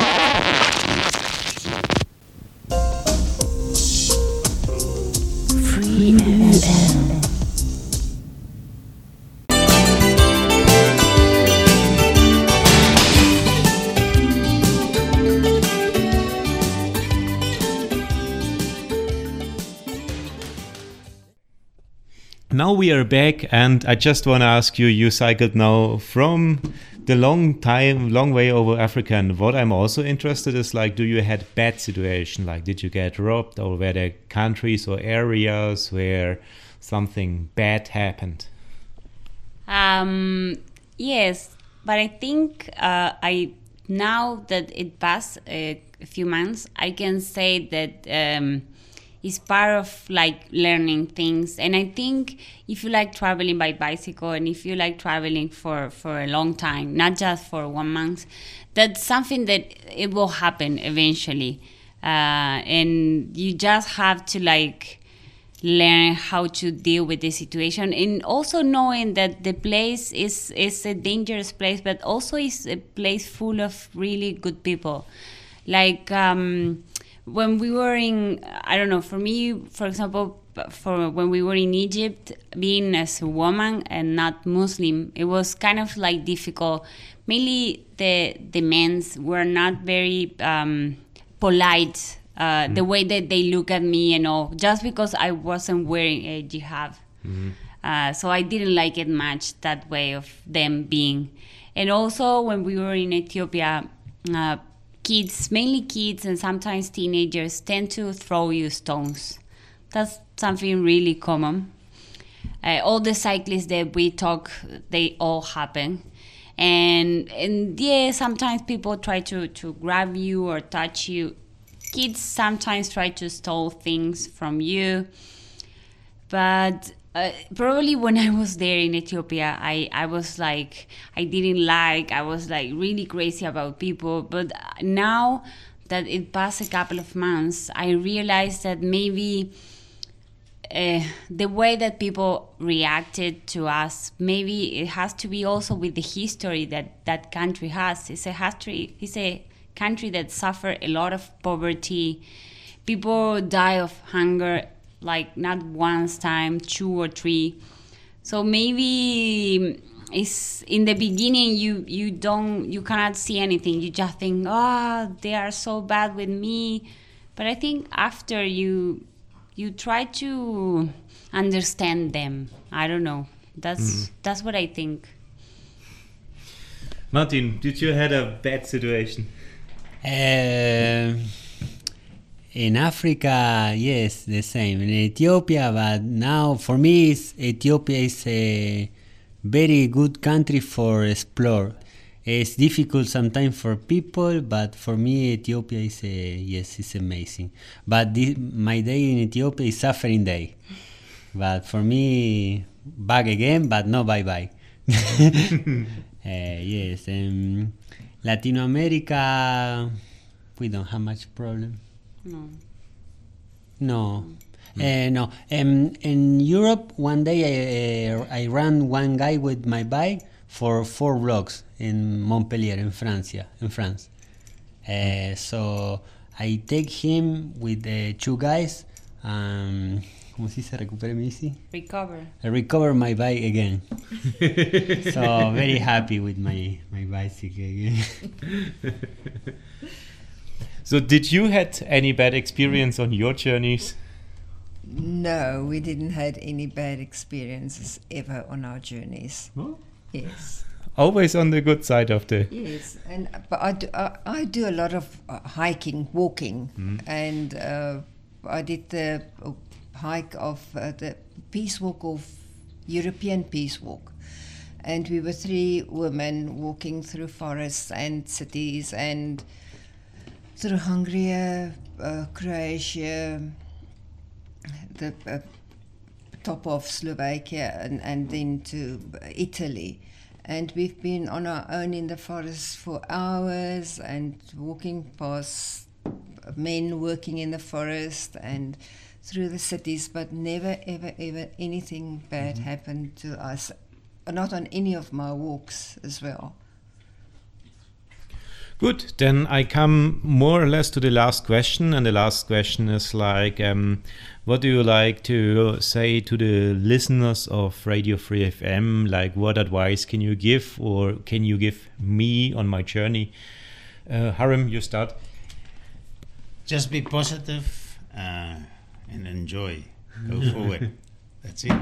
Now we are back, and I just want to ask you, you cycled now from the long way over Africa, and what I'm also interested is, like, do you had bad situation? Like, did you get robbed, or were there countries or areas where something bad happened? Yes, but I think now that it passed a few months, I can say that it's part of like learning things. And I think if you like traveling by bicycle and if you like traveling for a long time, not just for 1 month, that's something that it will happen eventually. And you just have to like learn how to deal with the situation, and also knowing that the place is a dangerous place, but also is a place full of really good people. Like when we were in, I don't know, for me, for example, for when we were in Egypt, being as a woman and not Muslim, it was kind of like difficult. Mainly the men were not very polite. The way that they look at me and all, just because I wasn't wearing a hijab. So I didn't like it much, that way of them being. And also when we were in Ethiopia, kids, mainly kids and sometimes teenagers, tend to throw you stones. That's something really common. All the cyclists that we talk, they all happen. And yeah, sometimes people try to grab you or touch you. Kids sometimes try to steal things from you. But probably when I was there in Ethiopia, I was like, I was like really crazy about people. But now that it passed a couple of months, I realized that maybe the way that people reacted to us, maybe it has to be also with the history that country has. It's a country that suffered a lot of poverty. People die of hunger, like not once time, 2 or 3. So maybe it's in the beginning you cannot see anything. You just think, they are so bad with me. But I think after you try to understand them. I don't know. That's what I think. Martin, did you had a bad situation? In Africa, yes, the same. In Ethiopia, but now for me, Ethiopia is a very good country for explore. It's difficult sometimes for people, but for me, Ethiopia is it's amazing. But my day in Ethiopia is suffering day. But for me, back again, but no bye-bye. Yes, Latin America, we don't have much problem. No. In Europe, one day I ran one guy with my bike for 4 blocks in Montpellier, in France. So I take him with the 2 guys. ¿Cómo se dice? Recupere mi bici? I recover my bike again. So very happy with my bicycle again. So did you had any bad experience on your journeys? No, we didn't had any bad experiences ever on our journeys. Oh? Yes. Always on the good side of the... Yes, but I do a lot of hiking, walking, and I did the hike of the Peace Walk of European Peace Walk, and we were 3 women walking through forests and cities and through Hungary, Croatia, the top of Slovakia, and then to Italy. And we've been on our own in the forest for hours and walking past men working in the forest and through the cities, but never, ever, ever anything bad happened to us. Not on any of my walks as well. Good, then I come more or less to the last question, and the last question is like, what do you like to say to the listeners of Radio Free FM? Like, what advice can you give, or can you give me on my journey? Harim, you start. Just be positive and enjoy. Go forward. That's it.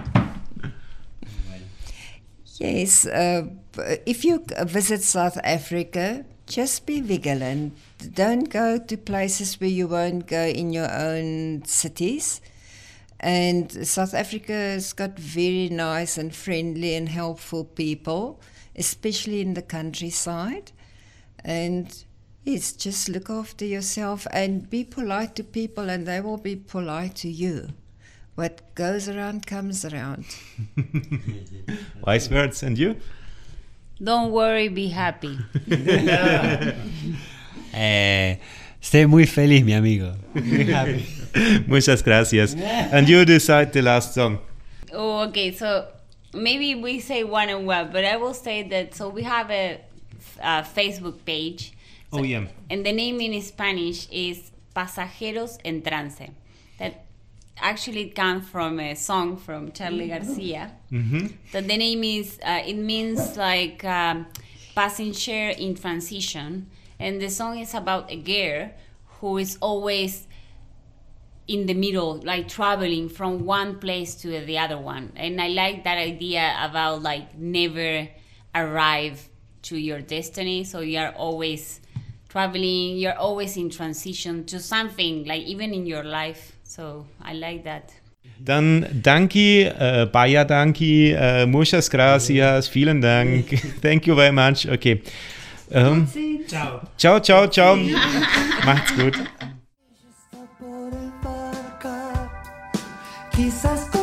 Yes, if you visit South Africa, just be vigilant. Don't go to places where you won't go in your own cities. And South Africa has got very nice and friendly and helpful people, especially in the countryside. And yes, just look after yourself and be polite to people, and they will be polite to you. What goes around comes around. Wise words. And you? Don't worry, be happy. Sé muy feliz, mi amigo. Muy happy. Muchas gracias. And you decide the last song. Oh, okay. So maybe we say one and one, but I will say that. So we have a Facebook page. So, oh yeah. And the name in Spanish is Pasajeros en Trance. That actually comes from a song from Charlie Garcia. So the name is, it means like passenger in transition. And the song is about a girl who is always in the middle, like traveling from one place to the other one. And I like that idea about like never arrive to your destiny. So you are always traveling, you're always in transition to something, like even in your life. So I like that. Dann danke, Baya danke, muchas gracias, vielen Dank. Thank you very much. Okay. Ciao. Ciao, ciao, ciao. Macht's gut. Quizás